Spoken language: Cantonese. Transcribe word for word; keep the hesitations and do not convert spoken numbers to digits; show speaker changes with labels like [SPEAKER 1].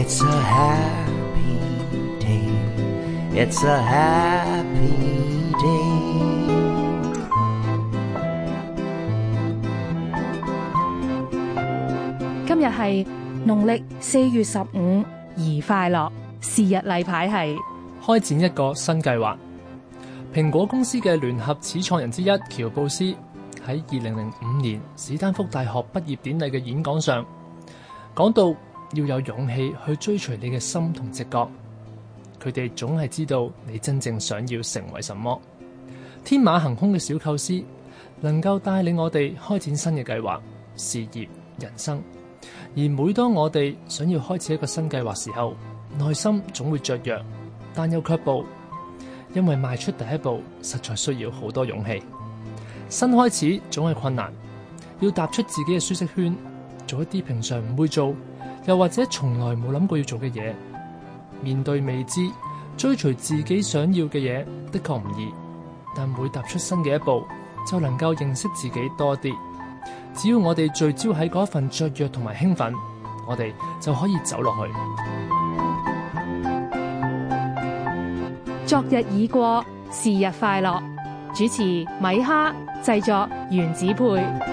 [SPEAKER 1] It's a happy day. It's a happy day.
[SPEAKER 2] 今日係農曆四月十五，宜快樂。是日例牌係
[SPEAKER 3] 開展一個新計劃。蘋果公司嘅聯合始創人之一喬布斯喺二零零五年史丹福大學畢業典禮嘅演講上講到，要有勇氣去追隨你嘅心同直覺。佢哋總係知道你真正想要成為什麼。天馬行空嘅小構思能夠帶領我哋開展新嘅計劃、事業、人生。而每當我哋想要開始一個新計劃時候，內心總會雀躍，但又卻步，因為邁出第一步實在需要好多勇氣。新開始總係困難，要踏出自己嘅舒適圈，做一啲平常唔會做，又或者從來冇諗過要做嘅嘢。面對未知，追隨自己想要嘅嘢，的確唔易，但每踏出新嘅一步，就能夠認識自己多啲。只要我哋聚焦喺嗰一份雀躍同埋興奮，我哋就可以走落去。
[SPEAKER 2] 昨日已過，是日快樂。主持米哈，製作原子配。